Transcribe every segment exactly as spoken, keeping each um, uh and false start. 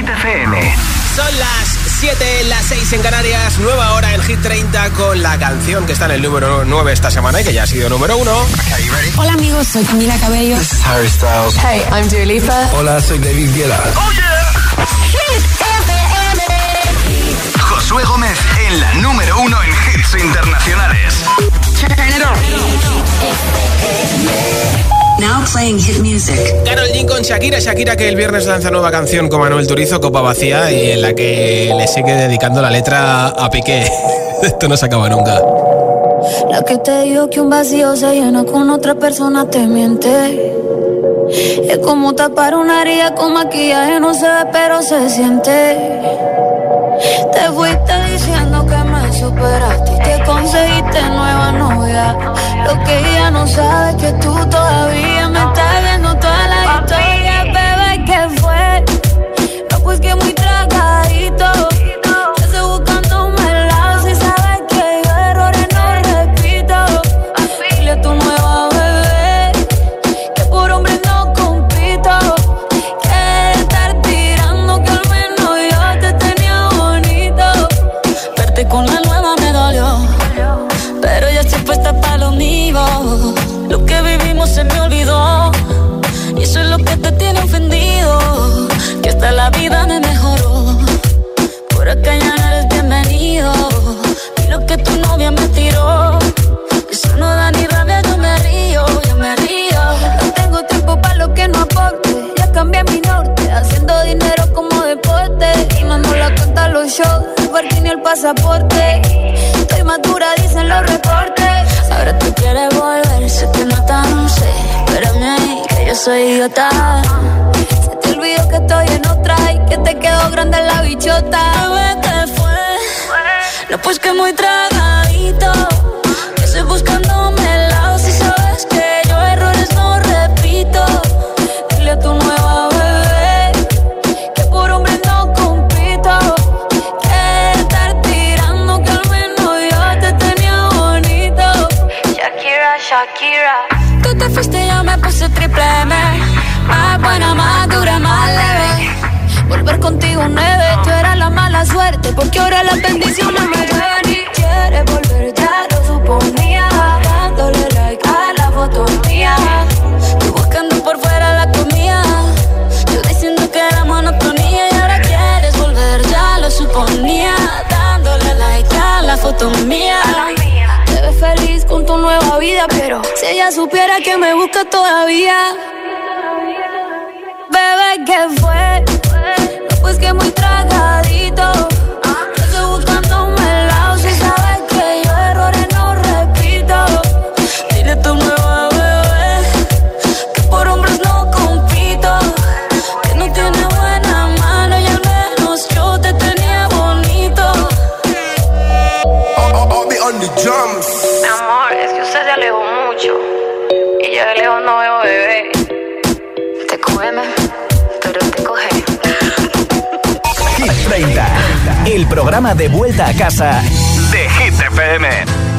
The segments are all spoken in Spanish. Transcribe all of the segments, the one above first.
Hit F M. Son las siete, las seis en Canarias, nueva hora en Hit treinta con la canción que está en el número nueve esta semana y que ya ha sido número uno. Okay, you ready? Hola amigos, soy Camila Cabello. This is Harry Styles. Hey, I'm Dua Lipa. Hola, soy David Guetta. ¡Oh, yeah! Hit F M. Josué Gómez en la número uno en hits internacionales. Turn it on. Now playing hit music. Karol G con Shakira, Shakira que el viernes lanza nueva canción con Manuel Turizo, Copa Vacía, y en la que le sigue dedicando la letra a Piqué. Esto no se acaba nunca. La que te dijo que un vacío se llena con otra persona te miente. Es como tapar una herida con maquillaje, no se ve pero se siente. Te fuiste diciendo que me superaste y te conseguiste nueva novia. Lo que ella no sabe es que tú todavía me estás viendo toda la historia. Bebé, ¿qué fue? No, pues que muy tragadito. Yo estoy buscándome el lado. Si sabes que yo errores no repito. Dile a tu nueva bebé que por hombre no compito. Que estar tirando que al menos yo te tenía bonito. Verte con la nueva me dolió, pero ya estoy puesta para lo mío. Lo que vivimos se me olvidó y eso es lo que te tiene ofendido. Que hasta la vida me mejoró. Por acá ya no eres bienvenido. Y lo que tu novia me tiró, eso no da ni rabia, yo me río, yo me río. No tengo tiempo para lo que no aporte. Ya cambié mi norte, haciendo dinero como deporte. Y mando la cuenta a los shows, el parking y el pasaporte. Estoy madura, dicen los reportes. Ahora tú quieres volver, se te nota, no sé. Espérame ahí, que yo soy idiota. Se te olvidó que estoy en otra y que te quedó grande la bichota. Bebé, ¿qué fue? No, pues que muy tragadito. Que estoy buscándome el lado. Si sabes que yo errores no repito. Dile a tu nueva bebé que por hombre no compito. Que estar tirando que al menos yo te tenía bonito. Shakira, Shakira. Tú te fuiste y yo me puse triple M. Más buena, más dura, más leve. Volver contigo nueve. Yo era la mala suerte porque ahora las bendiciones me llevan. Y quieres volver, ya lo suponía. Dándole like a la foto mía. Tú buscando por fuera la comida. Yo diciendo que era monotonía. Y ahora quieres volver, ya lo suponía. Dándole like a la foto mía. Te ves feliz con tu nueva vida, pero si ella supiera que me busca todavía. Bebé, ¿qué fue? No, pues que muy tragadito. Yo estoy buscándome el lado. Si sabes que yo errores no repito. Dile a tu nueva bebé que por hombres no compito. Que no tiene buena mano y al menos yo te tenía bonito. I'll be on the drums. Mi amor, es que usted se alejó mucho y yo de lejos no veo bebé. Te cógeme, pero te coge. Hit treinta, el programa de vuelta a casa de Hit F M.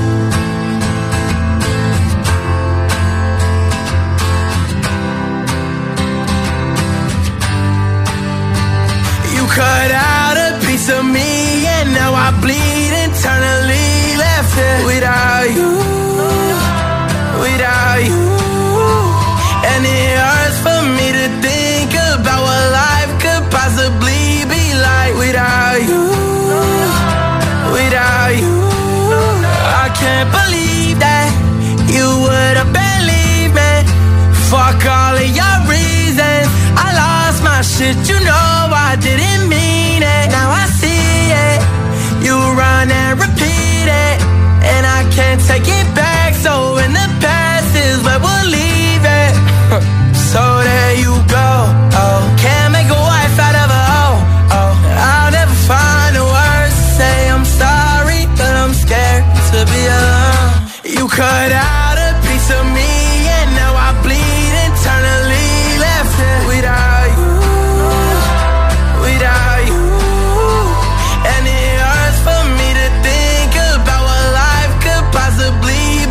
You cut out a piece of me and now I bleed internally. Left it without you, without you. And it hurts for me to think about what life could possibly be like without you, without you. I can't believe that you would have believed me. Fuck all of your reasons. I lost my shit, you know I didn't mean it. Now I see it. You run and repeat it, and I can't take it back. So in the past is where we'll leave it. So there you go. Oh, can't make a wife out of a hoe. Oh, I'll never find the words to say I'm sorry, but I'm scared to be alone. You cut out a piece of me, and now I bleed internally. Left it without you, without you. And it hurts for me to think about what life could possibly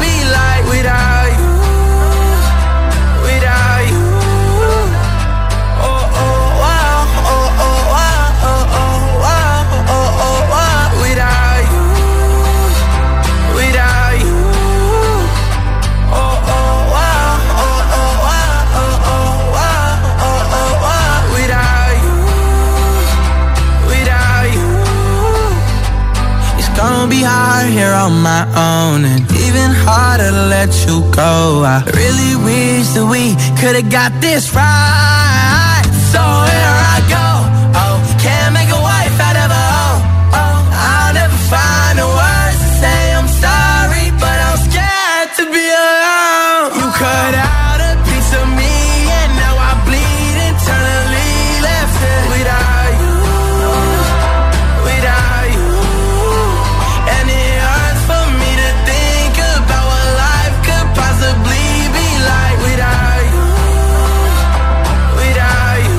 on my own, and even harder to let you go. I really wish that we could've got this right. So here I go. Oh, can't make a wife out of a hoe. Oh, I'll never find the words to say I'm sorry, but I'm scared to be alone. You cut out a piece of me, and now I bleed internally. Left it without you, without you. And it hurts for me to think about what life could possibly be like without you, without you.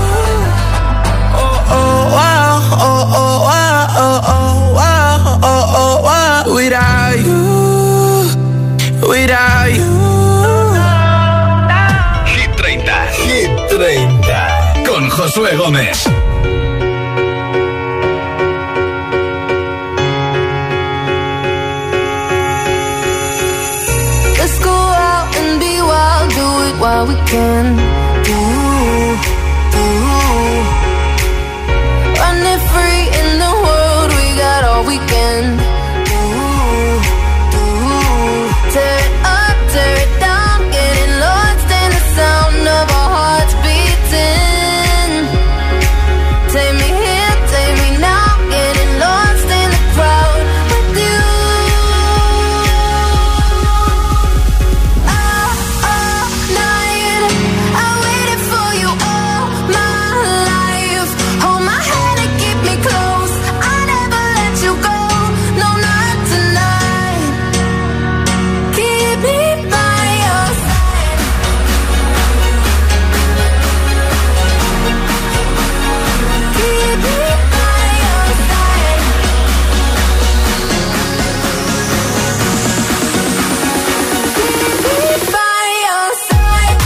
Oh, oh, wow, oh, oh, wow, oh, oh, wow, oh, oh, wow. Without you, without you. Hit treinta. Hit treinta. Con Josué Gómez. Let's go out and be wild, do it while we can. Ooh, ooh. Running free in the world, we got all weekend. Ooh, ooh. Tear it up, tear it down, getting lost in the sound of our hearts beating. Take me here, take me now, getting lost in the crowd with you. All, all night, I waited for you all my life. Hold my hand and keep me close, I never let you go. No, not tonight. Keep me by your side. Keep me by your side. Keep me by your side.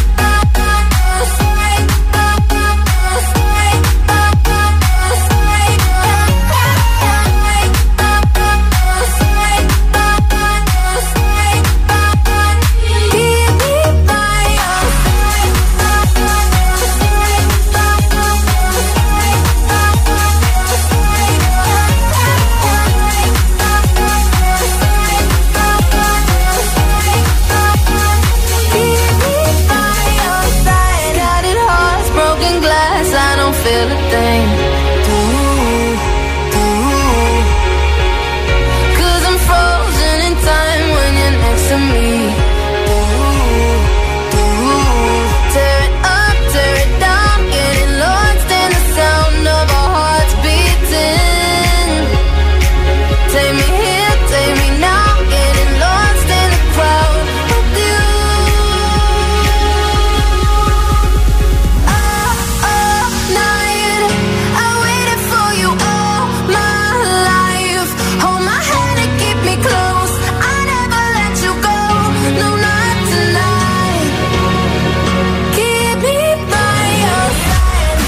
Scattered hearts, broken glass, I don't feel a thing. Ooh, ooh. 'Cause I'm frozen in time when you're next to me. Ooh, ooh. Tear it up, tear it down, getting lost in the sound of our hearts beating. Take me here, take me now, getting lost in the crowd with you. All, all night, I waited for you all my life. Hold my hand and keep me close, I never let you go. No, not tonight. Keep me by your side.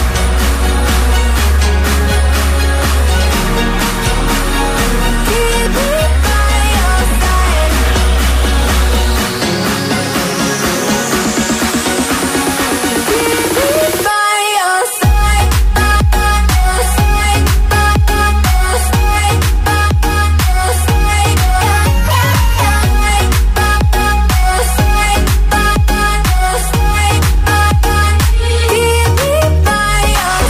Keep me by your side. Keep me by your side. Keep me by your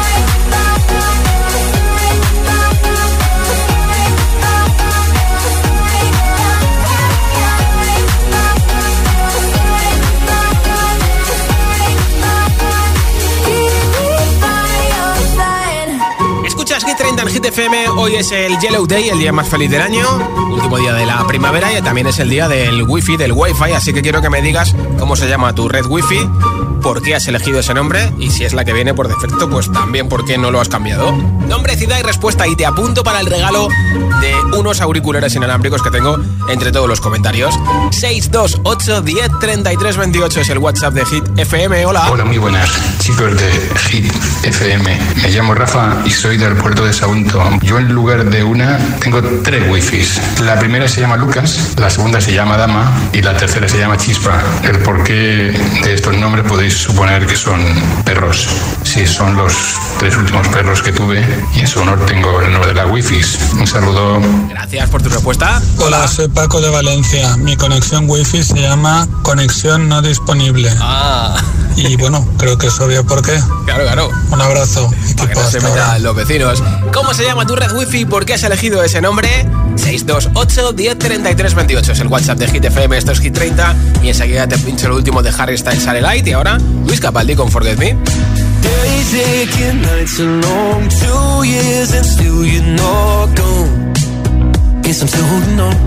Escuchas Hit treinta en Hit F M. Hoy es el Yellow Day, el día más feliz del año, último día de la primavera, y también es el día del wifi, del wifi. Así que quiero que me digas cómo se llama tu red wifi, por qué has elegido ese nombre, y si es la que viene por defecto, pues también por qué no lo has cambiado. Nombre, ciudad y respuesta, y te apunto para el regalo de unos auriculares inalámbricos que tengo entre todos los comentarios. seis dos ocho, diez, treinta y tres, veintiocho es el WhatsApp de Hit F M. Hola. Hola, muy buenas, chicos de Hit F M. Me llamo Rafa y soy del puerto de Sagunto. pregunto, yo en lugar de una tengo tres wifis. La primera se llama Lucas, la segunda se llama Dama y la tercera se llama Chispa. El porqué de estos nombres podéis suponer que son perros. Sí, son los tres últimos perros que tuve y en su honor tengo el nombre de las wifis. Un saludo. Gracias por tu respuesta. Hola, Hola, soy Paco de Valencia. Mi conexión wifi se llama conexión no disponible. Ah. Y bueno, creo que es obvio por qué. Claro, claro. Un abrazo. Para que no se metan los vecinos. ¿Cómo se llama tu red wifi? ¿Por qué has elegido ese nombre? seis dos ocho, diez, treinta y tres, veintiocho es el WhatsApp de Hit F M. Esto es Hit treinta. Y enseguida te pincho el último de Harry Styles, Satellite. Y ahora, Luis Capaldi con Forget Me. Days aching, nights are long, two years and still you're not gone. Guess I'm still holding on.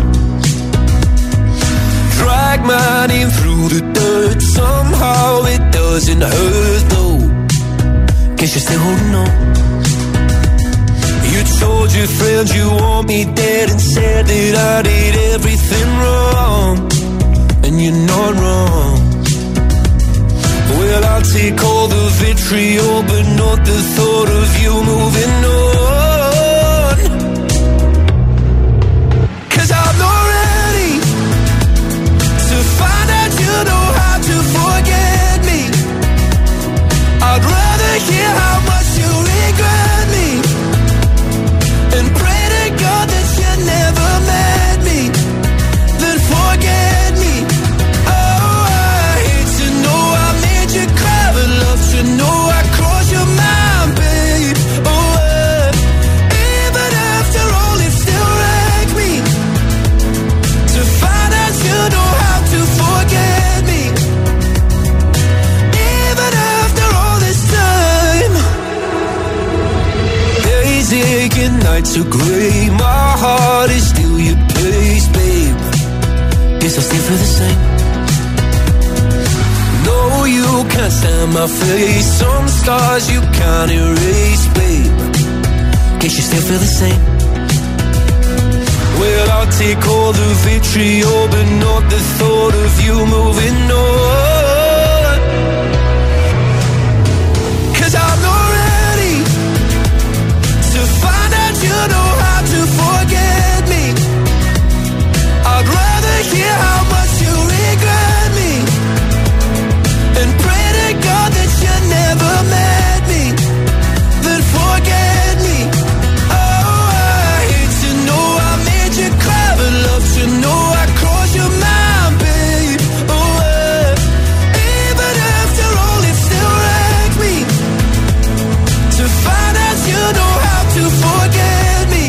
Drag my name through the dirt, somehow it doesn't hurt though. Guess you're still holding on. You told your friends you want me dead and said that I did everything wrong. And you're not wrong. Well, I'll take all the vitriol, but not the thought of you moving on. 'Cause I'm not ready to find out you know how to forget me. I'd rather hear how much you regret me and pray to God that you never met me than forget me. Oh, I hate to know I made you cry, but love to know I crossed your mind, babe. Oh, uh, even after all it still wrecked me to find out you know how to forget me. Even after all this time, days aching, nights are grey, my heart is still your place, babe. Guess I still feel the same. No, you can't stand my face, some scars you can't erase, babe. Guess you still feel the same. Well, I'll take all the vitriol, but not the thought of you moving on. 'Cause I'm not ready to find out you know how to forget me. I'd rather hear how much you regret me and pray to God that you never met me than forget me. Oh, I hate to know I made you cry, but love to know I crossed your mind, babe. Oh, uh, even after all it still wrecked me to find out you know how to forget me.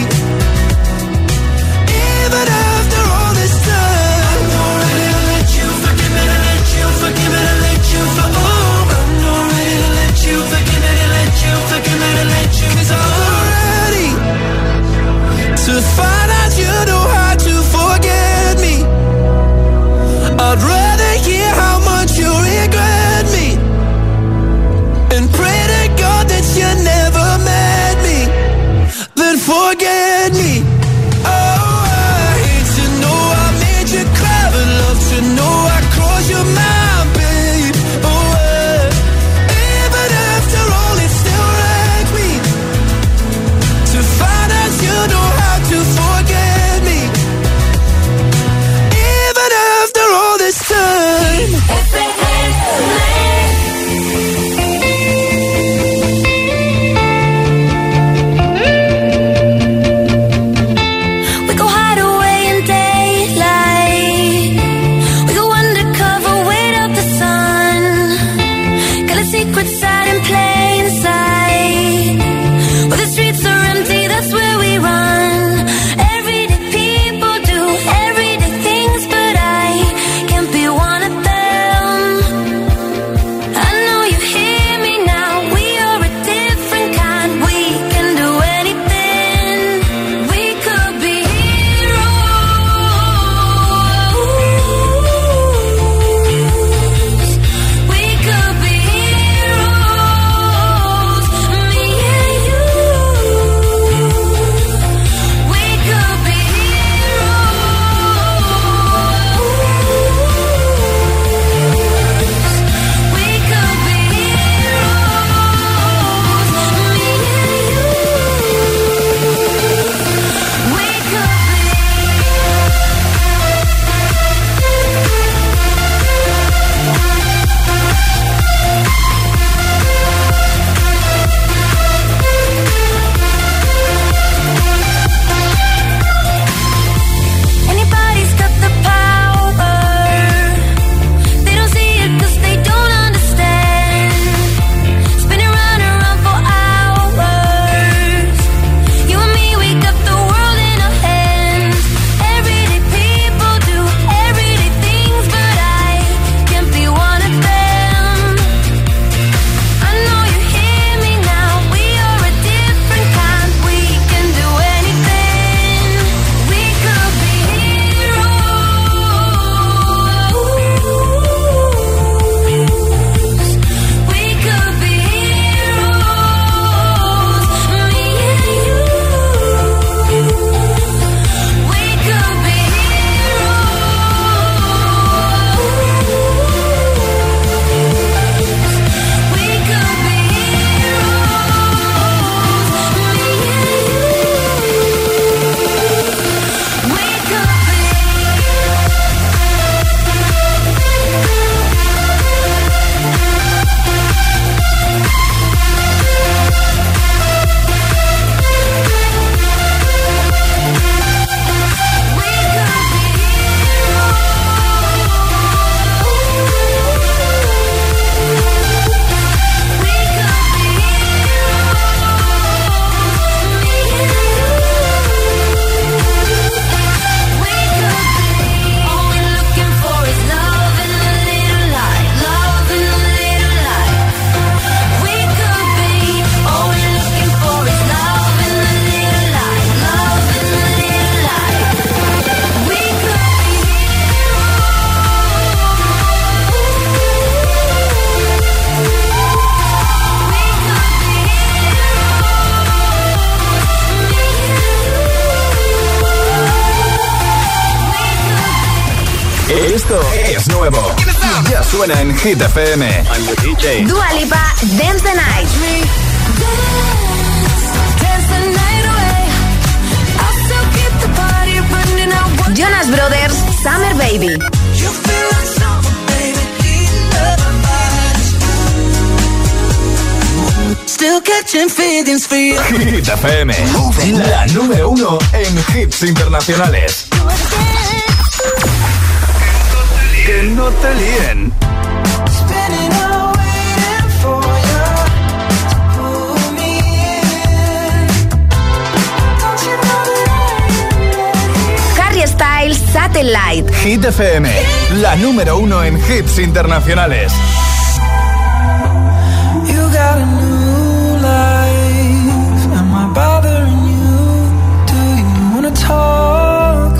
Even after all this time, I'm not ready to let you forgive me, to let you forgive me, to let you for oh, I'm not ready to let you forgive me, to let you forgive me, to let you 'cause I'm not ready to find out you know how to forget me. I'd rather hear how much you regret me and pray to God that you never met me than forget me. Oh, I hate to know I made you cry, but love to know I crossed your mind, babe. Oh, uh, even after all it still wrecked me to find out you know how to forget me. Even after all this time. Esto es nuevo. Ya suena en Hit F M. I'm the D J. Dua Lipa, Dance the Night. Jonas Brothers, Summer Baby. Still catching feelings for you. Hit F M, la número uno en hits internacionales. Que no te líen. Harry Styles, Satellite. Hit F M, la número uno en hits internacionales. You got a new life. Am I bothering you? Do you wanna talk?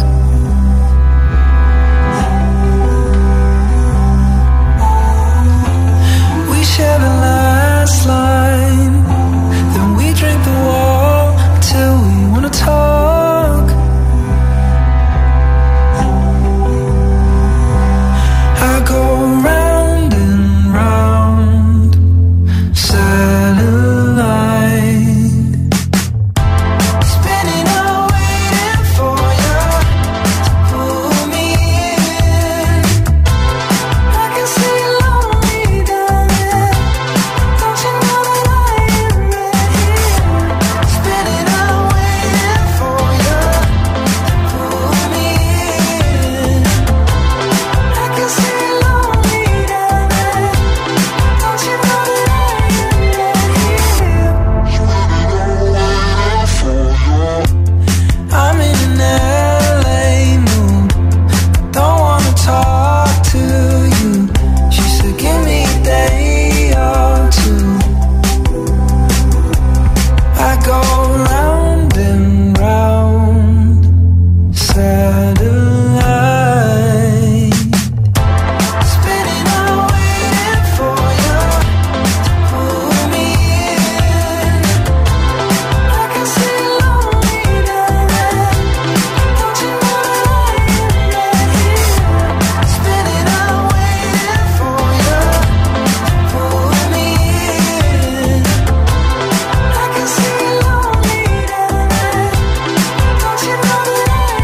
We share the last line. Then we drink the wall till we wanna talk. I go round and round, satellite, spinning out waiting for you to pull me in. I can see you lonely down there. Don't you know that I am right here? Spinning out waiting for you to pull me in. I can see you lonely down there. Don't you know that I am right here? I'm in an L A mood. Don't wanna talk to you. She said, give me a day or two. I go round and round, satellite, spinning out waiting for you to pull me in. I can see you lonely down there. Don't you know that I am right here? Spinning out waiting for you to pull me in. I can see you lonely down there. Don't you know that I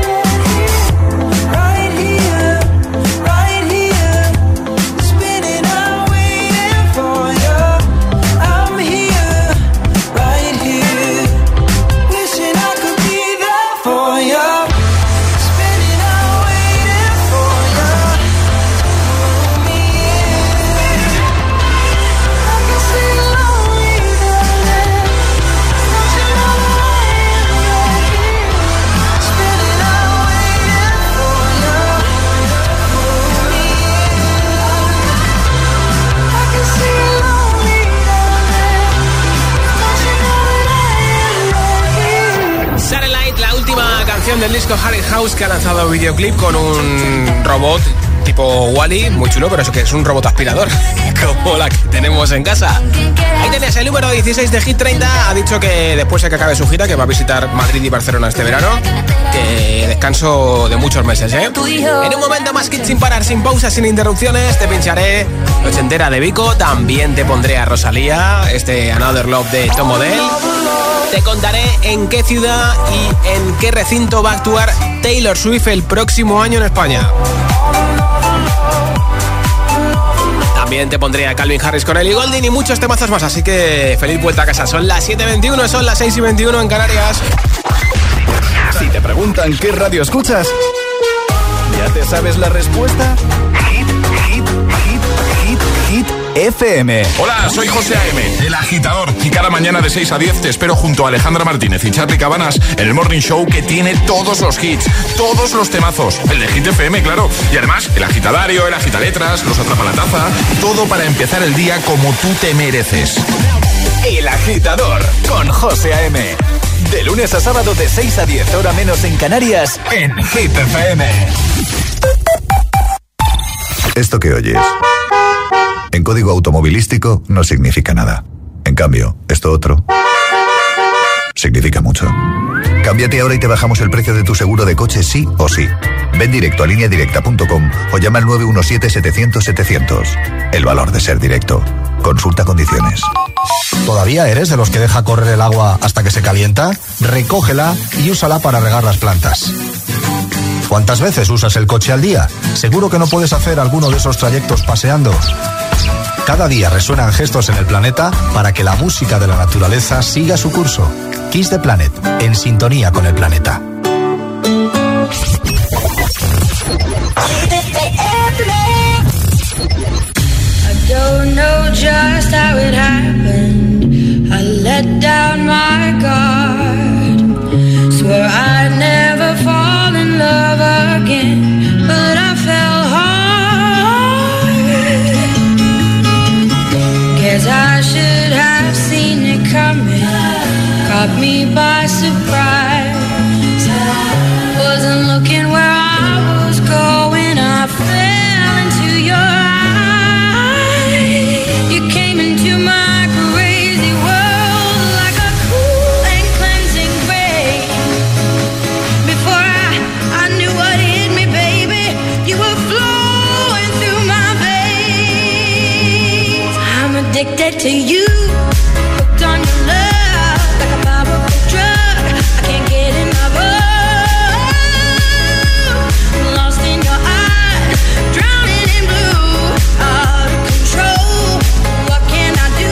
am right here? Right here, right here, spinning out waiting for you. I'm here, right here, wishing I could be there for you. Spinning out waiting for you, pull me in. I can see you lonely down there. Don't you know that I am right here? Spinning out waiting for you, pull me in. I can see you lonely down there. Don't you know that I am right here? Satellite, la última canción del disco Harry House, que ha lanzado videoclip con un robot tipo Wall-E, muy chulo, pero eso que es un robot aspirador, como la que tenemos en casa. Ahí tenés el número dieciséis de Hit treinta. Ha dicho que después de que acabe su gira, que va a visitar Madrid y Barcelona este verano, que descanso de muchos meses, ¿eh? En un momento más Hit sin parar, sin pausas, sin interrupciones, te pincharé la ochentera de Vico, también te pondré a Rosalía, este Another Love de Tom Odell. Te contaré en qué ciudad y en qué recinto va a actuar Taylor Swift el próximo año en España. También te pondré a Calvin Harris con Ellie Goulding y muchos temazos más, así que feliz vuelta a casa. Son las siete y veintiuno, son las seis y veintiuno en Canarias. Si te preguntan qué radio escuchas, ¿ya te sabes la respuesta? Hit, hit, hit, hit, hit F M. Hola, soy José A M, el agitador, y cada mañana de seis a diez te espero junto a Alejandra Martínez y Charly Cabanas en el Morning Show, que tiene todos los hits, todos los temazos, el de Hit F M, claro, y además el agitadario, el agitaletras, los atrapalataza, todo para empezar el día como tú te mereces. El agitador con José A M, de lunes a sábado de seis a diez, hora menos en Canarias, en Hit F M. Esto que oyes en código automovilístico no significa nada. En cambio, esto otro significa mucho. Cámbiate ahora y te bajamos el precio de tu seguro de coche sí o sí. Ven directo a línea directa punto com o llama al nueve uno siete, setecientos, setecientos. El valor de ser directo. Consulta condiciones. ¿Todavía eres de los que deja correr el agua hasta que se calienta? Recógela y úsala para regar las plantas. ¿Cuántas veces usas el coche al día? ¿Seguro que no puedes hacer alguno de esos trayectos paseando? Cada día resuenan gestos en el planeta para que la música de la naturaleza siga su curso. Kiss the Planet, en sintonía con el planeta. I don't know just how it happened. I let down my guard. Swore I'd never fall in love again, but I fell hard. Guess I should have seen it coming. Caught me by surprise. Wasn't looking where I was going. I fell into your eyes. You came into my crazy world like a cool and cleansing rain. Before I, I knew what hit me, baby, you were flowing through my veins. I'm addicted to you, hooked on your love like a powerful drug. I can't get enough of. Lost in your eyes, drowning in blue, out of control. What can I do?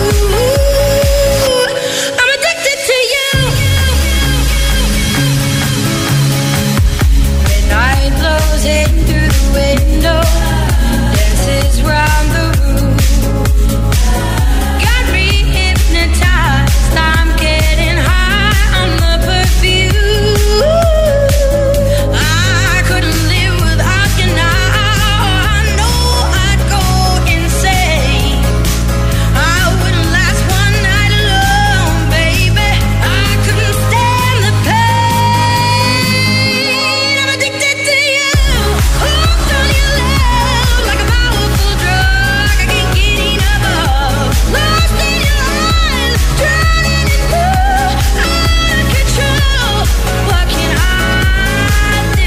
I'm addicted to you. Midnight blows in through the window, dances round the room. Got me hypnotized, I'm getting high on the perfume. I couldn't live without you now. I know I'd go insane. I wouldn't last one night alone, baby. I couldn't stand the pain. I'm addicted to you, hooked on your love like a powerful drug. I can't get enough of. Lost in your eyes, drowning in blue, out of control. What can I do?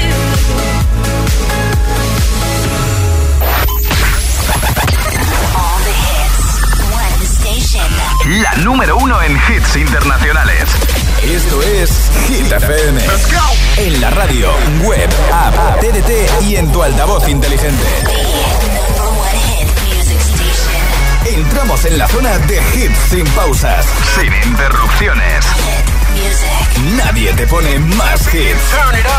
All the hits, one station. La número uno en hits internacionales. Esto es Hit F M. Let's go. En la radio, web, app, T D T y en tu altavoz inteligente. Entramos en la zona de hits sin pausas, sin interrupciones. Nadie te pone más hits.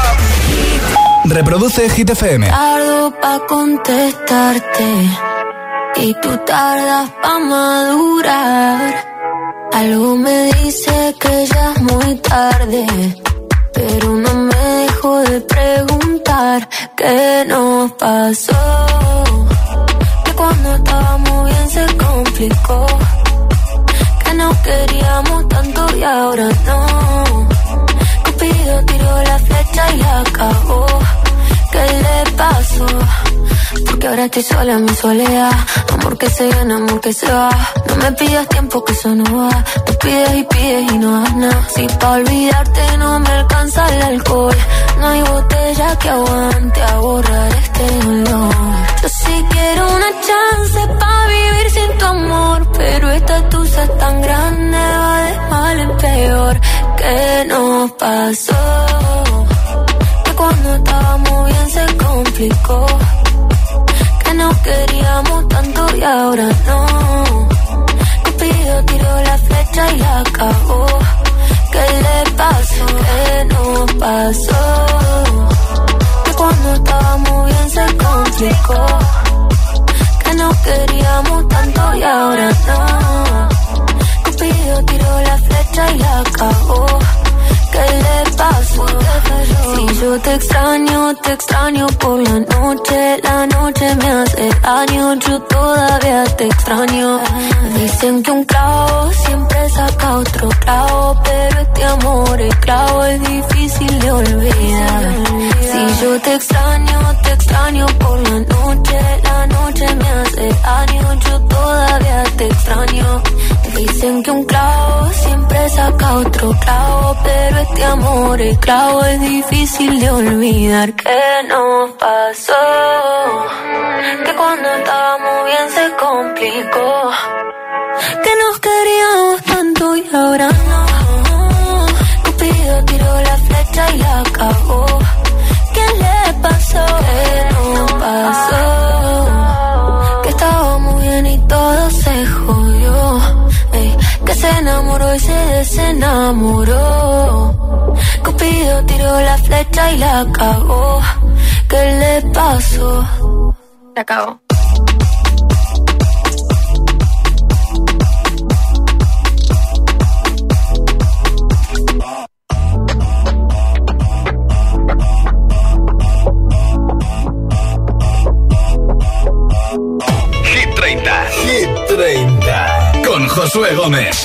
Reproduce Hit F M. Tardo pa' contestarte y tú tardas pa' madurar. Algo me dice que ya es muy tarde, pero no me dejo de preguntar qué nos pasó. Que cuando estábamos bien se complicó, que nos queríamos tanto y ahora no. Cupido tiró la flecha y acabó. ¿Qué le pasó? Porque ahora estoy sola en mi soledad. Amor que se gana, amor que se va. No me pidas tiempo que eso no va. Te pides y pides y no das nada. Si pa' olvidarte no me alcanza el alcohol, no hay botella que aguante a borrar este dolor. Yo sí quiero una chance pa' vivir sin tu amor, pero esta tusa es tan grande, va de mal en peor. ¿Qué nos pasó? Que cuando estábamos bien se complicó, que nos queríamos tanto y ahora no. Cupido tiró la flecha y acabó. ¿Qué le pasó? ¿Qué nos pasó? Que cuando estábamos bien se complicó, que nos queríamos tanto y ahora no. Cupido tiró la flecha y acabó. ¿Qué le pasó? Si yo te extraño, te extraño por la noche. La noche me hace daño, yo todavía te extraño. Dicen que un clavo siempre saca otro clavo, pero este amor esclavo es difícil de olvidar. Si yo te extraño, te extraño por la noche. La noche me hace daño, yo todavía te extraño. Dicen que un clavo siempre saca busca otro clavo, pero este amor es clavo, es difícil de olvidar que nos pasó, que cuando estábamos bien se complicó, que nos queríamos tanto y ahora no. Cupido tiró la flecha y la cagó. ¿Qué le pasó? ¿Qué nos pasó? Que estábamos bien y todo se jodió. Ey, que se enamoró y se desenamoró. Cupido tiró la flecha y la cagó. ¿Qué le pasó? La cagó. Hit treinta. Hit treinta. Con Josué Gómez.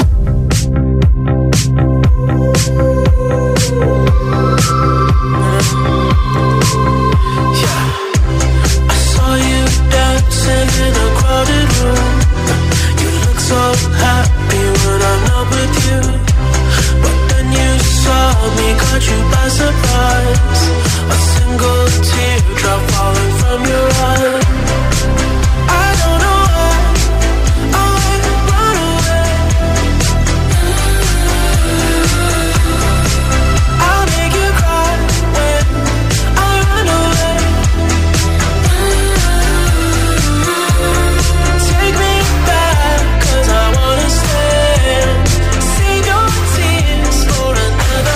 Caught you by surprise. A single teardrop falling from your eye. I don't know why I run away. I'll make you cry when I run away. Take me back, 'cause I wanna stay. Save your tears for another.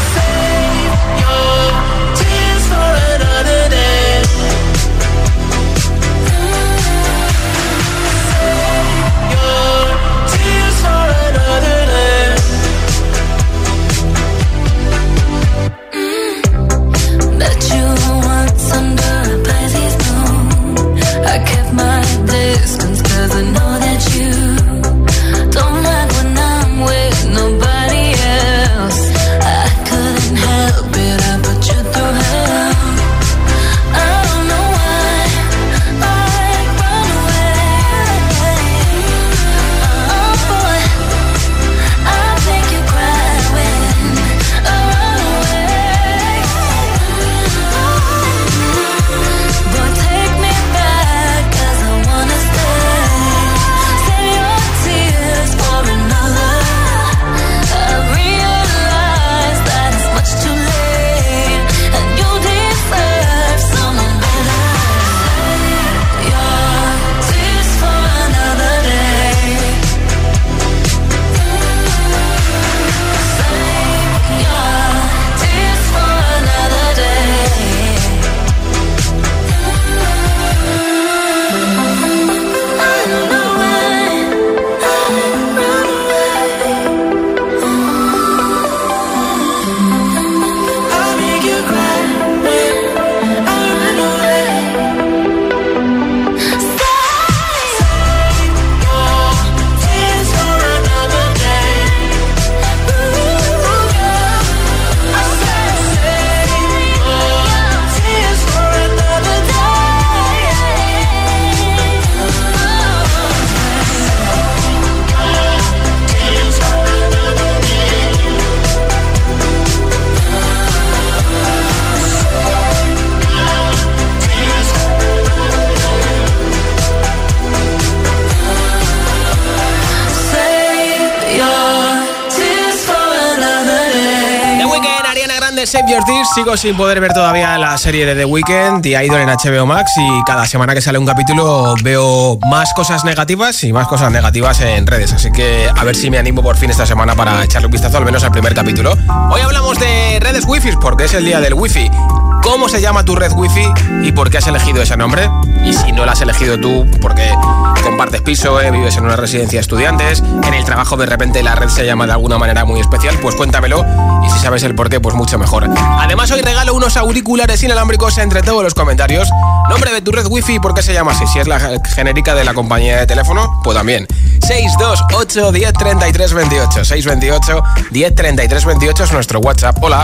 Save Your Tears. Sigo sin poder ver todavía la serie de The Weeknd y Idol en H B O Max, y cada semana que sale un capítulo veo más cosas negativas y más cosas negativas en redes, así que a ver si me animo por fin esta semana para echarle un vistazo al menos al primer capítulo. Hoy hablamos de redes wifi porque es el día del wifi. ¿Cómo se llama tu red wifi y por qué has elegido ese nombre? Y si no la has elegido tú porque compartes piso, eh, vives en una residencia de estudiantes, en el trabajo de repente la red se llama de alguna manera muy especial, pues cuéntamelo, y si sabes el por qué, pues mucho mejor. Además hoy regalo unos auriculares inalámbricos entre todos los comentarios. Nombre de tu red wifi y por qué se llama así. Si es la genérica de la compañía de teléfono, pues también. seis dos ocho, diez, treinta y tres, veintiocho. seis dos ocho, diez, treinta y tres, veintiocho es nuestro WhatsApp. Hola.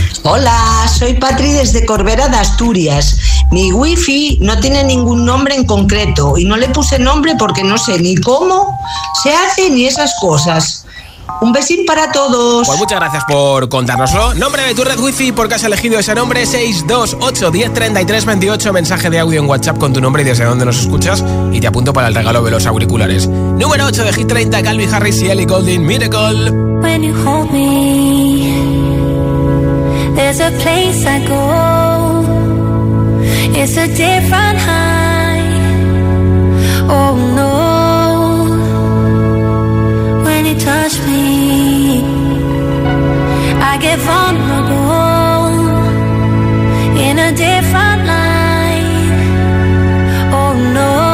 Hola, soy Patri desde Corbera de Asturias. Mi wifi no tiene ningún nombre en concreto y no le puse nombre porque no sé ni cómo se hace ni esas cosas. Un besín para todos. Pues muchas gracias por contárnoslo. Nombre de tu red wifi, porque has elegido ese nombre. Seis dos ocho uno cero tres tres dos ocho. Mensaje de audio en WhatsApp con tu nombre y desde dónde nos escuchas, y te apunto para el regalo de los auriculares. Número ocho de Hit treinta, Calvin Harris y Ellie Goulding, Miracle. When you hold me, there's a place I go. It's a different high. Oh no. When you touch me, I get vulnerable in a different light. Oh no.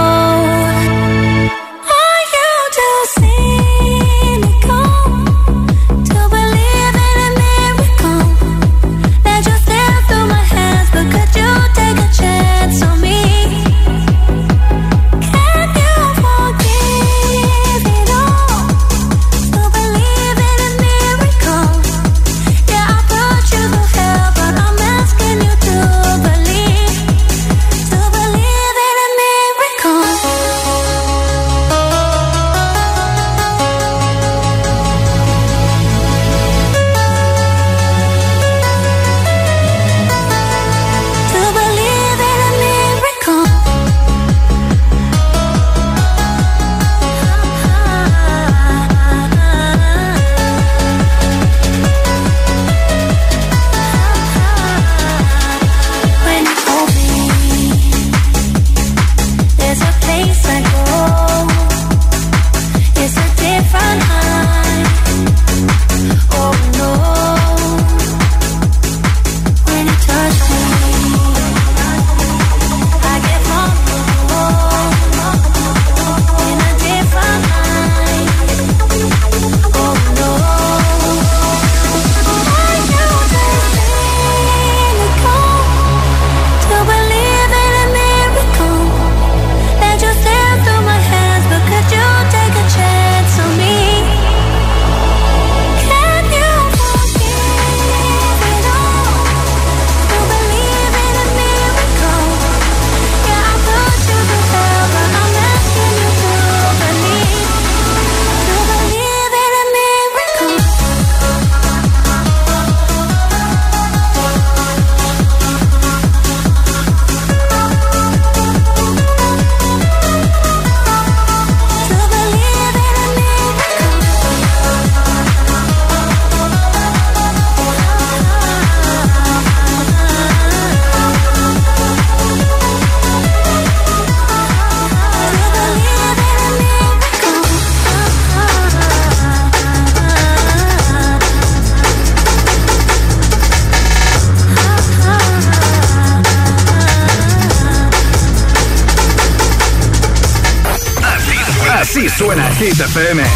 Así suena Hit F M.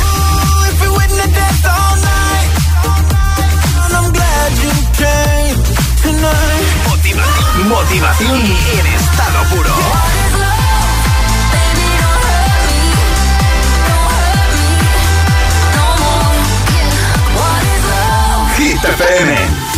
Motivación, motivación en estado puro. Hit F M.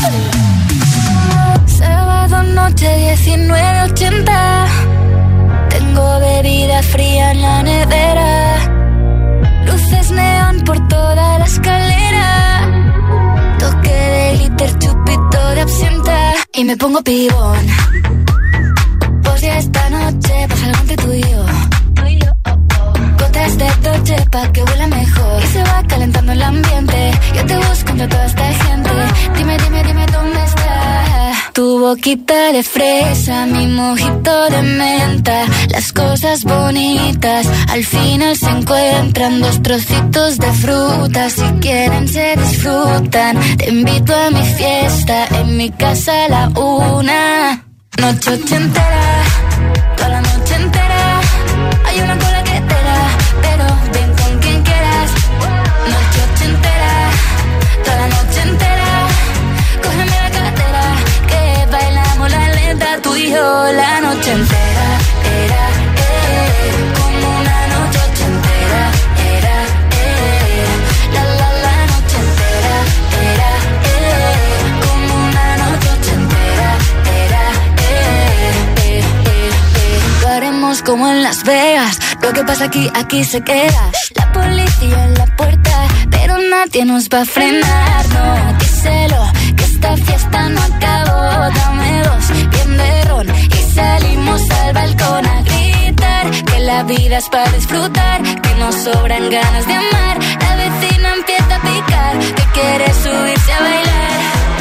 Sábado noche diecinueve ochenta. Tengo bebida fría en la nevera. Luces neón por toda la escalera. Toque de glitter, chupito de absenta. Y me pongo pibón. Pues ya esta noche pasa algo entre tú y yo. Gotas de Dolce pa' que huela mejor. Y se va calentando el ambiente. Yo te busco entre toda esta gente. Dime, dime, dime dónde está. Tu boquita de fresa, mi mojito de menta. Las cosas bonitas al final se encuentran. Dos trocitos de fruta, si quieren se disfrutan. Te invito a mi fiesta, en mi casa a la una. Noche ochentera, toda la noche entera. Hay una cola que te da, pero ven con quien quieras. Noche ochentera, toda la noche entera. Cógeme la cartera, que bailamos la lenta. Tú y yo la noche entera. Era, eh, como una noche ochentera. Era, eh, la la la noche entera. Era, eh, como una noche ochentera. Era, eh, eh, eh, eh. Lo haremos como en Las Vegas. Lo que pasa aquí, aquí se queda. La policía en la puerta, pero nadie nadie nos va a frenar, no, díselo, que esta fiesta no acabó. Dame dos, bien de ron y salimos al balcón a gritar que la vida es para disfrutar, que nos sobran ganas de amar. La vecina empieza a picar, que quiere subirse a bailar,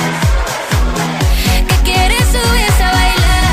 que quiere subirse a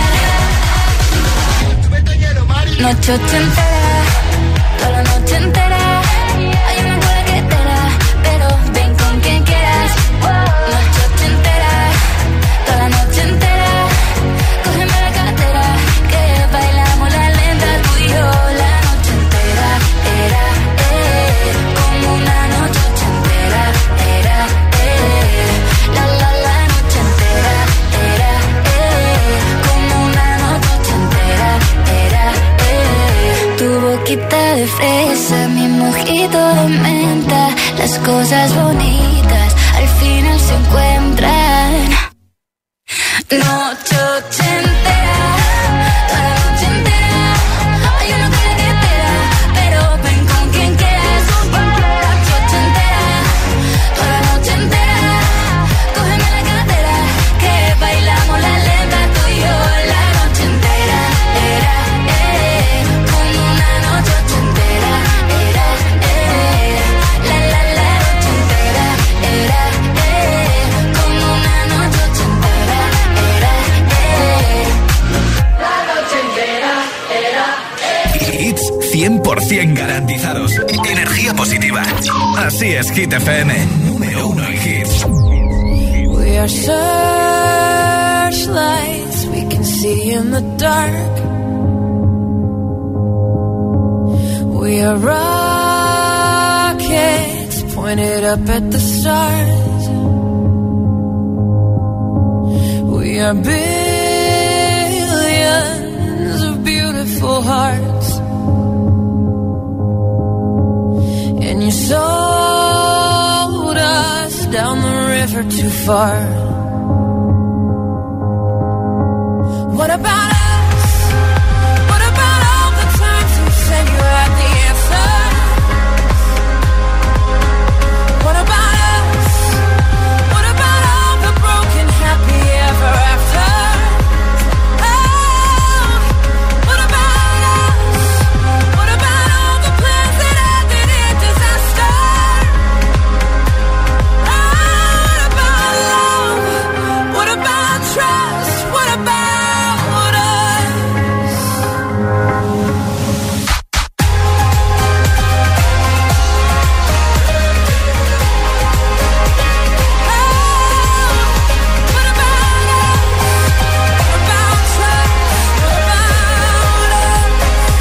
bailar. Noche ochentera, toda la noche entera. Hay una cola que te da, pero ven con quien quieras. Noche ochentera, toda la noche entera. Cógeme la cartera, que bailamos la lenta tú y yo. La noche entera, era, eh, como una noche ochentera, era, eh, la la la noche entera, era, eh, como una noche ochentera, era, eh. Tu boquita de fresa, mi mojito de menta, las cosas bonitas al final se encuentran. Noche ochentera, toda la noche entera. Hay una cola que te da, pero ven con quien quieras. Noche ochentera, toda la noche entera. Cógeme la cartera, que bailamos la lenta tú y yo. La noche entera, era, eh, como una noche ochentera, era, eh, la la la noche entera, era, eh, como una noche ochentera, era, eh, la noche entera, era, eh. Hits cien por ciento garantizados. Energía positiva. Así es, Hit F M. Número uno en hits. We are searchlights we can see in the dark. We are rockets pointed up at the stars. We are billions of beautiful hearts. And you sold us down the river too far. What about us? What about all the times you said you had the answer? What about us? What about all the broken happy ever after? Oh, what about us? What about all the plans that ended in disaster? Oh, what about love? What about trust? What about us? What about us? What about trust? What about us?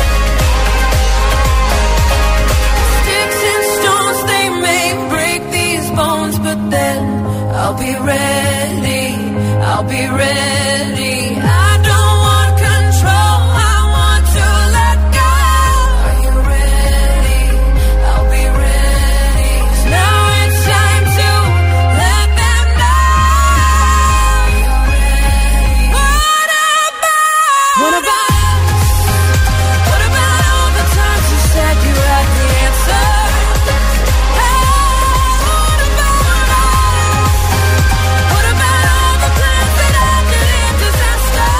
Sticks and stones, they may break these bones, but then I'll be ready, I'll be ready. I don't want control, I want to let go. Are you ready? I'll be ready. 'Cause now it's time to let them know. You're ready. What about? What about us? What about all the times you said you had the answer? Oh, what about us? What about all the plans that ended in disaster?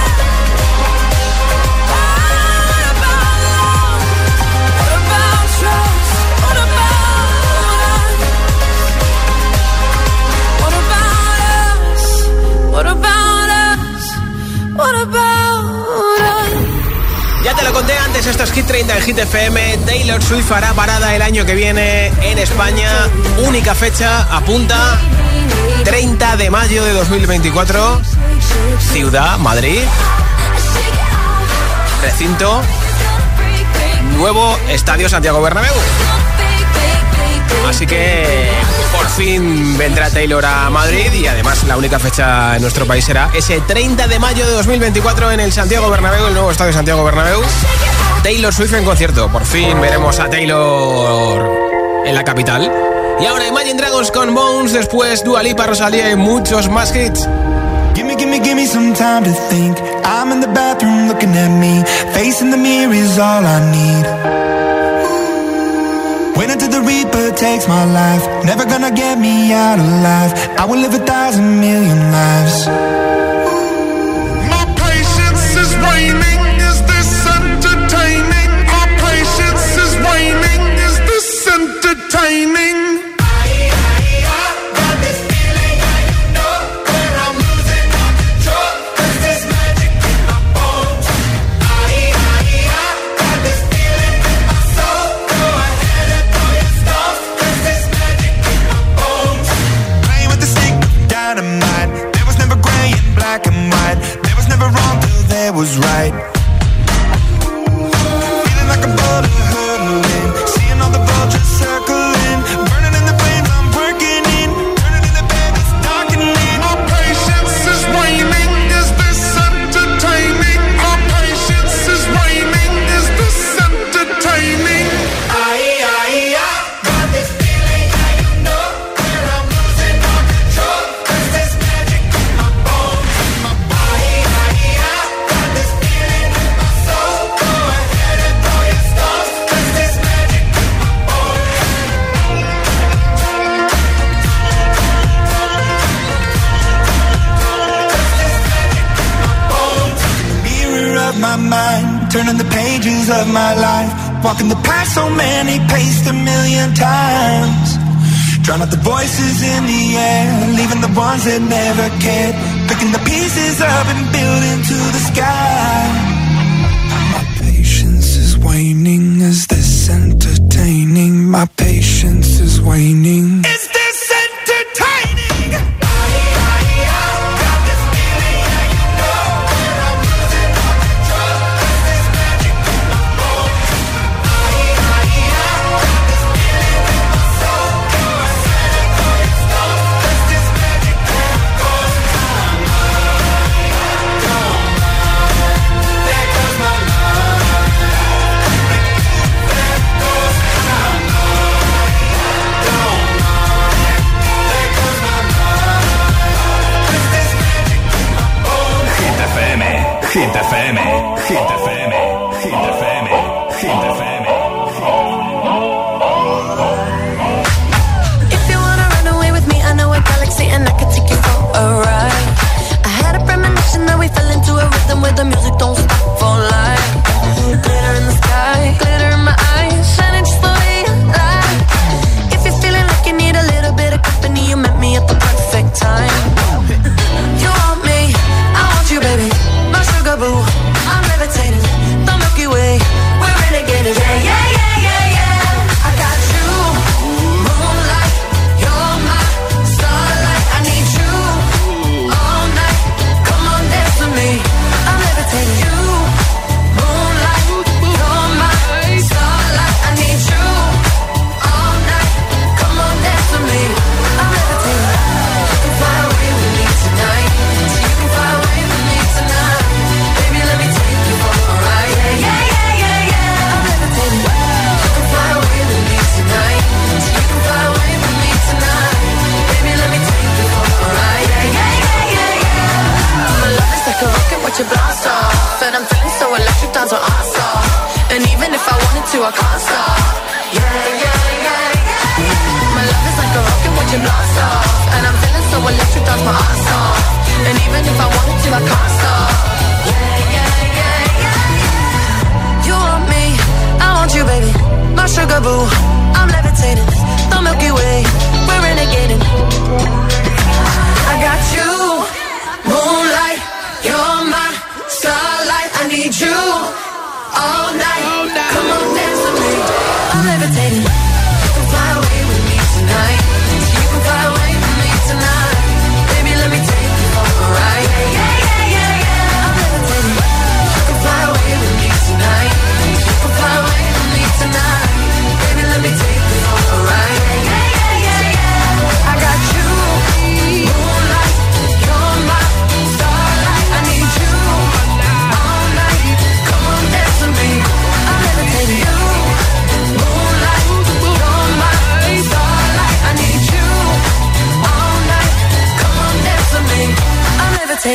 Oh, what about love? What about trust? What about us? What about us? What about us? What about us? Ya te lo conté antes, esto es Hit treinta en Hit F M. Taylor Swift hará parada el año que viene en España. Única fecha, apunta, treinta de mayo de dos mil veinticuatro. Ciudad, Madrid. Recinto, nuevo Estadio Santiago Bernabéu. Así que por fin vendrá Taylor a Madrid y además la única fecha en nuestro país será ese treinta de mayo de dos mil veinticuatro en el Santiago Bernabéu, el nuevo Estadio Santiago Bernabéu. Taylor Swift en concierto. Por fin veremos a Taylor en la capital. Y ahora Imagine Dragons con Bones, después Dua Lipa, Rosalía y muchos más hits. Gimme, gimme, gimme some time to think. I'm in the bathroom looking at me. Facing the mirror is all I need. Wait until the Reaper takes my life. Never gonna get me out alive. I will live a thousand million lives. My patience is waning. Is this entertaining? Our patience is waning. Is this entertaining? Was right. Feeling like a bullet hurtling, seeing all the vultures circling, burning in the flames I'm working in, turning in the bed it's darkening. Our patience is waning. Is this entertaining? Our patience is waning. Is this entertaining? Aye, aye, I got this feeling, I don't know where I'm losing all control. Cause there's magic in my bones, in my body. Aye, aye, I got this feeling in my soul. Go ahead and throw your stones. Cause there's magic in my bones. Mirror of my mind, turning the pages of my life, walking the path so many paced a million times. Drown out the voices in the air, leaving the ones that never cared, picking the pieces up and building to the sky. My patience is waning. Is this entertaining? My patience is waning. Is this entertaining? Hit F M, Hit F M, Hit F M, Hit F M. If you wanna run away with me, I know a galaxy and I can take you for a ride. I had a premonition that we fell into a rhythm where the music don't stop for life. Glitter in the sky, glitter in my eyes, shining just the way you like. If you're feeling like you need a little bit of company, you met me at the perfect time. You want me, I want you, baby. My sugar boo, I'm levitating. The Milky Way, we're renegading. Yeah, yeah, yeah, yeah, yeah. I got you, moonlight. You're my starlight. I need you all night. Come on, dance with me. I'm levitating. You, moonlight. You're my starlight. I need you all night. Come on, dance with me. I'm levitating. You can fly away with me tonight. So you can fly away with me tonight. Baby, let me take you for a ride. Yeah, yeah, yeah, yeah, yeah. I'm levitating. You can fly away with me tonight. So you can fly away with me tonight. Baby, let me take you for a ride. Yeah, yeah, yeah, yeah, yeah. My love is like a rocket, watch it blast off. And I'm feeling so electric, dance on our stop. And even if I wanted to, I can't stop. Yeah, yeah, yeah, yeah. My love is like a rocket, watch it blast off. And I'm feeling so electric, dance my ass off. And even if I wanted to, I can't stop. Yeah, yeah, yeah, yeah. You want me, I want you, baby. My sugar boo, I'm levitating. The Milky Way, we're renegading. I got you, moonlight. You're my starlight. I need you all night. Come on, dance with me. I'm levitating. You can fly away with me tonight. So you can fly away with me tonight. Baby, let me take you for a ride. Yeah, yeah, yeah, yeah. I'm levitating. You can fly away with me tonight. You can fly away with me tonight. Baby, let me take you for a ride. Yeah, yeah, yeah, yeah. I got you, moonlight. You're my starlight. I need you all night. Come on, dance with me. I'm levitating. You, moonlight. You're my starlight. I need you all night. Come on, dance with me. I'm levitating. Dua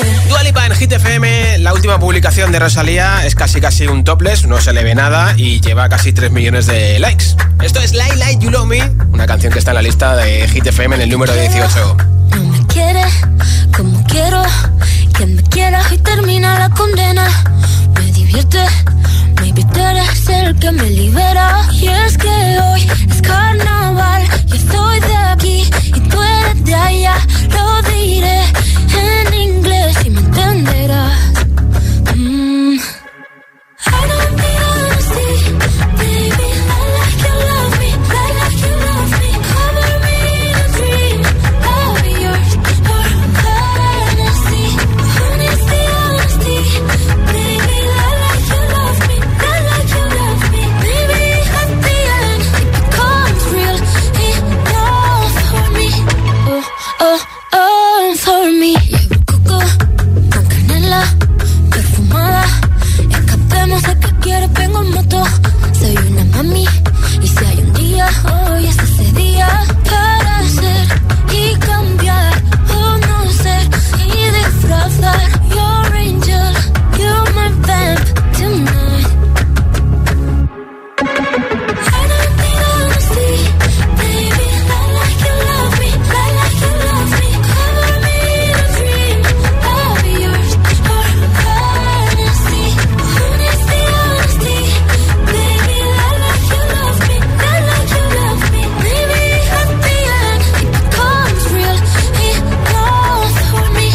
Lipa en Hit F M. La última publicación de Rosalía es casi casi un topless, no se le ve nada y lleva casi tres millones de likes. Esto es Like Like You Love Me, una canción que está en la lista de Hit F M en el número dieciocho. No me quiere como quiero, que me quiera y termina la condena. Me divierte, maybe tú eres el que me libera. Y es que hoy es carnaval, yo estoy de aquí y tú eres de allá. Lo diré en inglés y me entenderás. Mm. I don't need honesty, baby. I like you love me, I like you love me. Cover me in a dream, I'll be yours for fantasy. Who needs the honesty, baby? I like you love me, I like you love me. Maybe at the end it becomes real enough for me. Oh, oh, oh, for me. Llevo coco con canela perfumada. Escapemos de que quieres, vengo en moto. Soy una mami y si hay un día, hoy es ese día para ser y cambiar o no ser y disfrazar. Your angel, you're my vamp tonight. I don't need honesty, baby. I like you love me, I like you love me. Cover me in a dream, I'll be yours for fantasy. Who needs the honesty, baby? I like you love me, I like you love me. Maybe at the end it becomes real enough for me.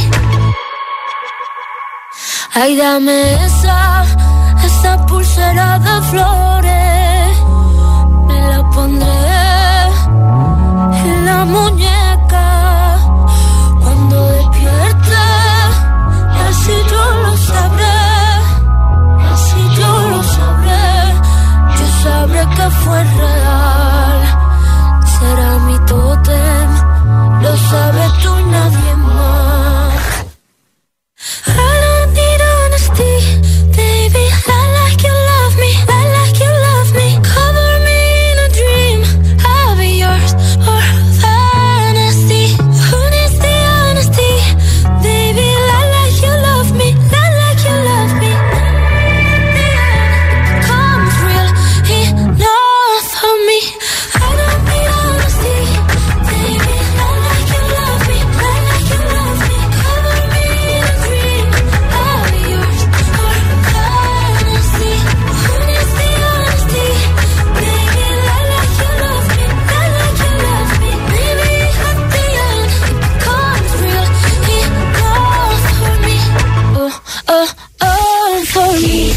Ay, dame esa, esa pulsera de flores. Me la pondré en la muñeca cuando despierte. Y así yo lo sabré, así yo lo sabré. Yo sabré que fue real. Será mi tótem, lo sabes tú y nadie más. I don't need honesty, baby. I like you love me, I like you love me. Cover me in a dream, I'll be yours for fantasy. Who needs the honesty, baby? I like you love me, I like you love me. The end becomes real enough for me. I don't need honesty, baby. I like you love me, I like you love me. Cover me in a dream, I'll be yours for fantasy. Who needs the honesty, baby? I like you love me, I like you love me. Maybe at the end it becomes real enough for me. Oh, oh, oh, for me.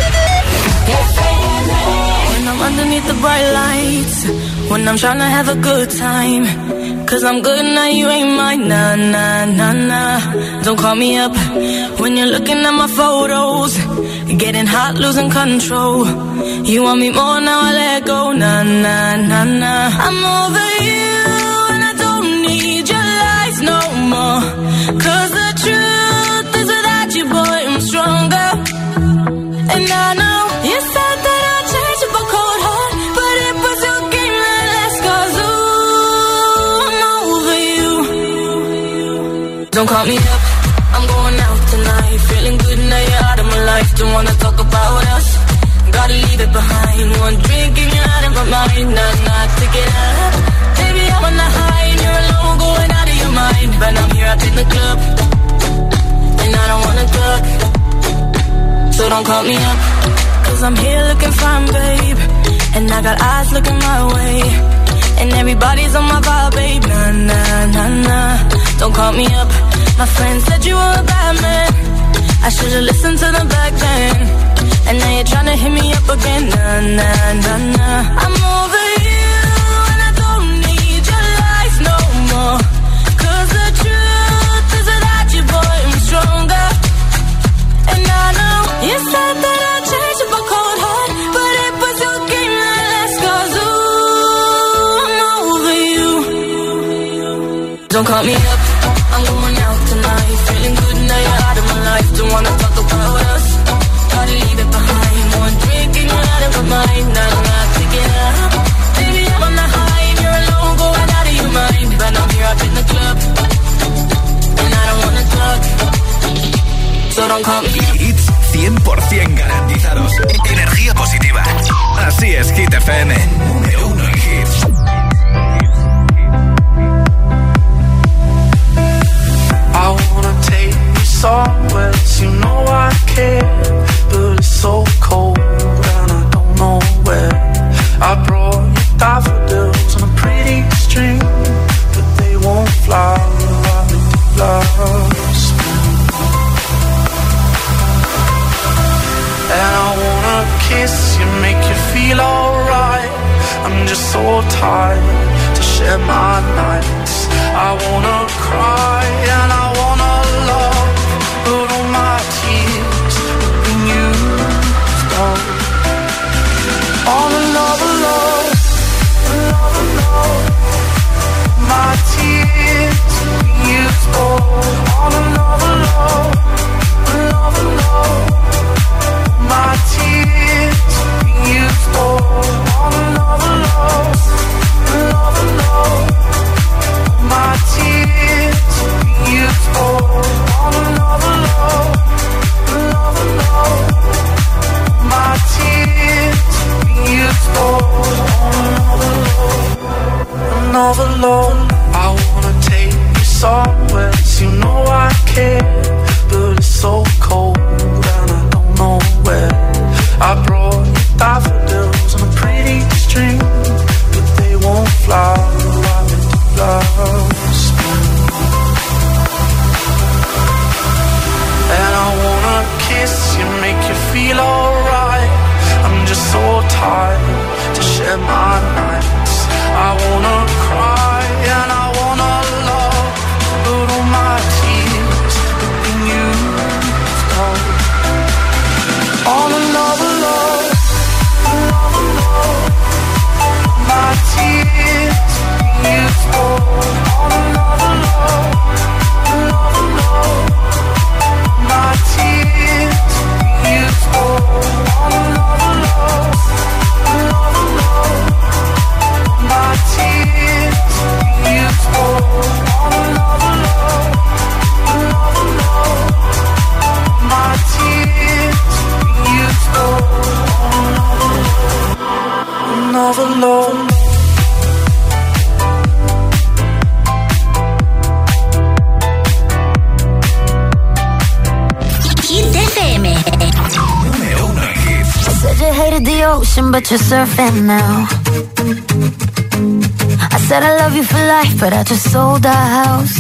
When I'm underneath the bright lights, when I'm tryna have a good time, cause I'm good now, you ain't mine, nah, nah, nah, nah. Don't call me up when you're looking at my photos, getting hot, losing control. You want me more, now I let go, nah, nah, nah, nah. I'm over you and I don't need your lies no more, cause the truth is without you, boy, I'm stronger. And I know you said that I'd change up a cold heart, but it was your game that last, cause ooh, I'm over you. Don't call me up, I'm going out tonight, feeling good now you're out of my life. Don't wanna talk about us, gotta leave it behind. One drink and you're out of my mind, nah, nah, take it out. Baby, I'm on the high and you're alone, going out of your mind. But I'm here up in the club, and I don't wanna talk, so don't call me up, cause I'm here looking fine, babe. And I got eyes looking my way, and everybody's on my vibe, babe. Nah, nah, nah, nah. Don't call me up, my friend said you were a bad man. I should've listened to them back then, and now you're tryna hit me up again. Nah, nah, nah, nah. I'm over you and I don't need your lies no more, cause the truth is without you, boy, I'm stronger. And I know you said that I'd change up a cold heart, but it was your game that last, cause ooh, I'm over you. Don't call me up, I'm going out tonight, feeling good now you're out of my life. Don't wanna talk about us, gotta leave it behind. One drink and you're out of my mind, nah, nah, take it out. Baby, I'm on the high and you're alone, going out of your mind. But I'm here up in the club, and I don't wanna talk, so don't come. Hits cien por ciento garantizados. Energía positiva. Así es, Hit F M. Número uno en hits. I wanna take you somewhere, you know I care, but it's so cold and I don't know where. I brought you daffodils on a pretty string, but they won't fly like the flowers. And I wanna kiss you, make you feel alright. I'm just so tired to share my nights. I wanna cry and I wanna love, but all my tears have been used up. All another love, another love. My tears have been used up. All another love, another love. My tears have been used up. All another love, another love. My tears have been used up. All another love, another love. My tears have been used up. Another love, another love. I wanna take you somewhere, you know I care, but it's so cold and I don't know where. I brought you daffodils on a pretty string, but they won't fly like the flowers. And I wanna kiss you, make you feel alright. I'm just so tired to share my nights. I wanna cry and I wanna love, but all my tears have been used up. On another love, another love. My tears have been used up. On another love, another love. My tears have been used up. On another love, another love. My tears have been used up. On another love, another love. My tears have been used up. On another love, another love. Said you hated the ocean, but you're surfing now. I said I love you for life, but I just sold our house.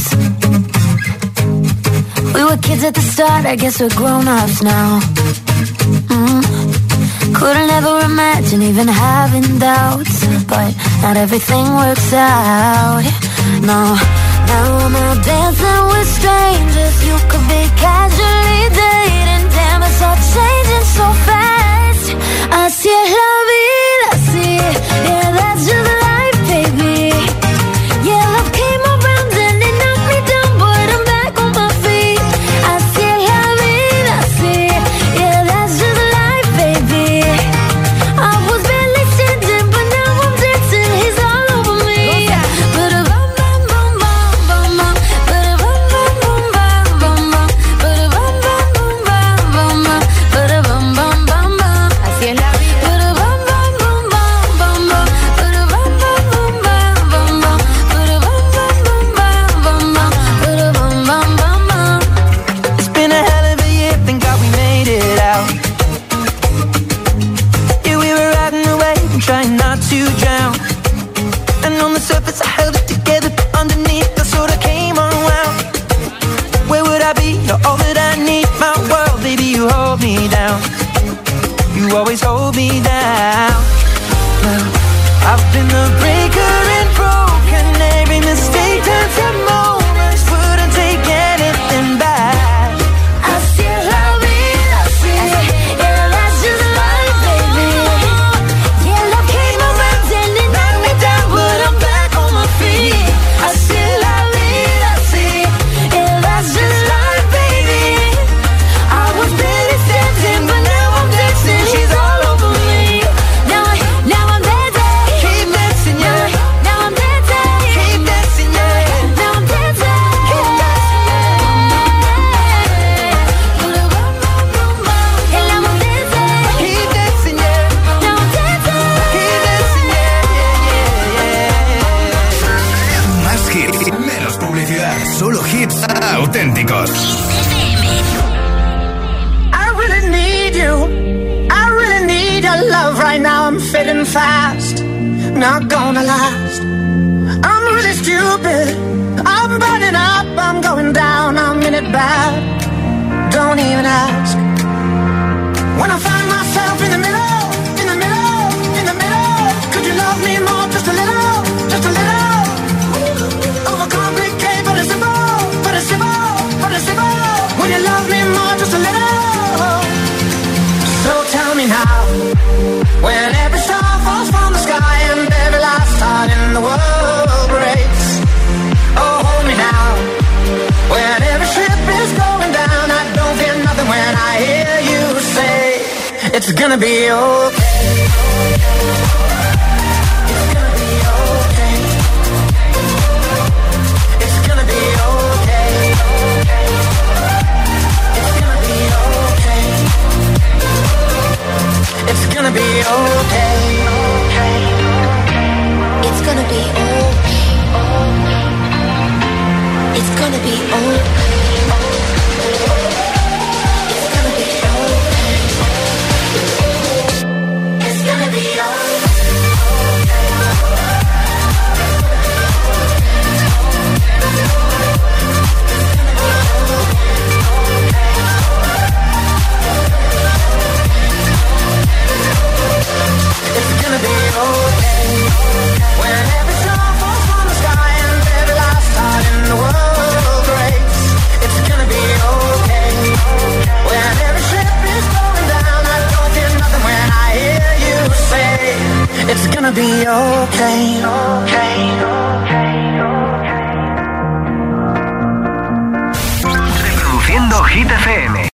We were kids at the start, I guess we're grown-ups now. Mm. Couldn't ever imagine even having doubts, but not everything works out. No, now I'm out dancing with strangers. You could be casually dating. Damn, it's all changing so fast. Así es la vida, así. Yeah, that's just life, baby. Yeah, love came around and it knocked me down, but I'm back on my feet. Así es la vida, así. Yeah, that's just life, baby. I was barely standing, but now I'm dancing. He's all over me. Ba-da-bum, bum, bum, bum, bum, bum. Ba-da-bum, bum, bum, bum, bum, bum. Ba-da-bum, bum, bum, bum, bum, bum. Ba-da-bum, bum, bum, bum. Así es la vida. Ba-da-bum, bum, bum, bum, bum, bum. Ba-da-bum, bum, bum, bum, bum, bum. Ba-da-bum, bum, bum, bum, bum, bum. Ba-da-bum, bum, bum, bum. It's been a hell of a year, thank God we made it out. Yeah, we were riding away and trying not to drown. And on the surface I held it together, but underneath I sort of came unwound. Where would I be? You're all that I need, my world, baby, you hold me down. You always hold me down. Well, I've been the breaker and broken. Every mistake turns to moments. Wouldn't take anything back. Así es la vida, así. Yeah, that's just life, baby. Yeah, love came around and it knocked me down, but I'm back on my feet. Así es la vida, así. Yeah, that's just life, baby. I was barely standing, but now I'm dancing. She's all over me. Now, I, now I'm dancing. Keep dancing, yeah. hits auténticos. I really need you. I really need your love right now. I'm fading fast. Not gonna last. I'm really stupid. I'm burning up. I'm going down. I'm in it bad. Don't even ask. When I find myself in the middle, in the middle, in the middle, could you love me more? Just a little, just a little. Overcomplicate, but it's simple, but it's simple, but it's simple. Would you love me more? Just a little. So tell me now, when every star falls from the sky and every last heart in the world breaks. Oh, hold me now, when every ship is going down. I don't feel nothing when I hear you say it's gonna be okay. It's gonna be okay. It's gonna be okay. It's gonna be okay. It's gonna be okay. It's gonna be okay. It's gonna be okay. It's gonna be okay, okay, okay.